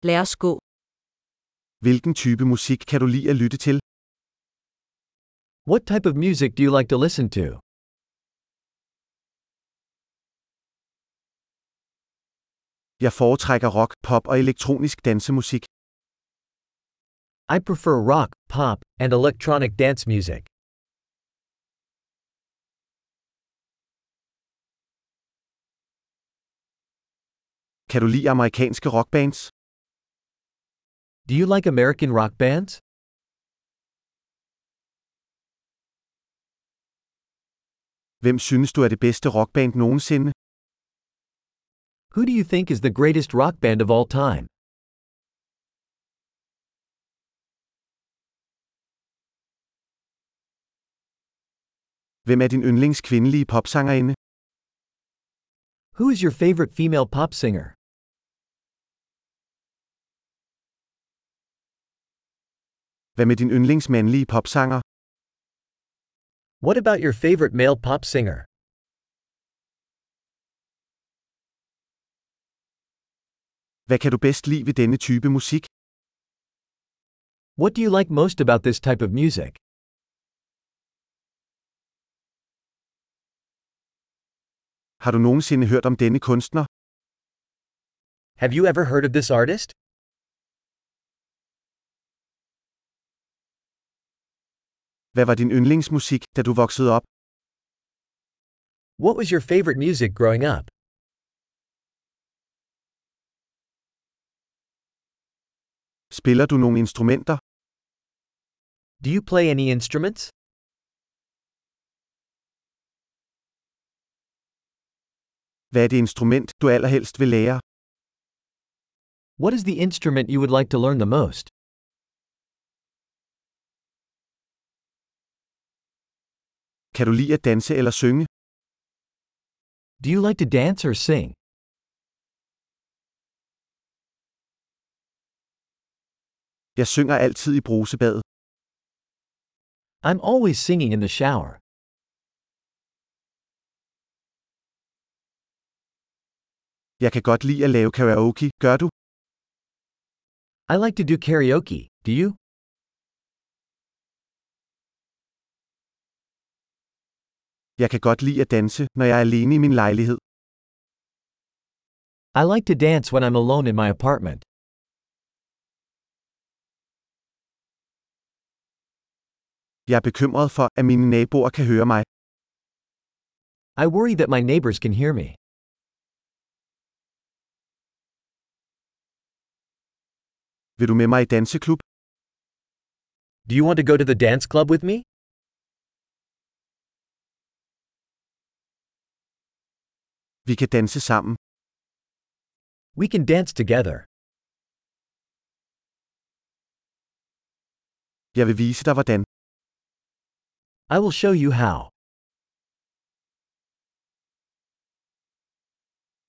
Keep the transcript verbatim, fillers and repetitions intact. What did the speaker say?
Lad os gå. Hvilken type musik kan du lide at lytte til? What type of music do you like to listen to? Jeg foretrækker rock, pop og elektronisk dansemusik. I prefer rock, pop, and electronic dance music. Kan du lide amerikanske rockbands? Do you like American rock bands? Hvem synes du er det bedste rockband nogensinde? Who do you think is the greatest rock band of all time? Hvem er din yndlings kvindelige popsangerinde? Who is your favorite female pop singer? Hvad med din yndlings mandlige popsanger? What about your favorite male pop singer? Hvad kan du bedst lide ved denne type musik? What do you like most about this type of music? Har du nogensinde hørt om denne kunstner? Have you ever heard of this artist? Hvad var din yndlingsmusik, da du voksede op? What was your favorite music growing up? Spiller du nogle instrumenter? Do you play any instruments? Hvad er det instrument, du allerhelst vil lære? What is the instrument you would like to learn the most? Kan du lide at danse eller synge? Do you like to dance or sing? Jeg synger altid i brusebadet. I'm always singing in the shower. Jeg kan godt lide at lave karaoke, gør du? I like to do karaoke, do you? Jeg kan godt lide at danse, når jeg er alene i min lejlighed. I like to dance when I'm alone in my apartment. Jeg er bekymret for, at mine naboer kan høre mig. I worry that my neighbors can hear me. Vil du med mig i danseklub? Do you want to go to the dance club with me? Vi kan danse sammen. We can dance together. Jeg vil vise dig hvordan. I will show you how.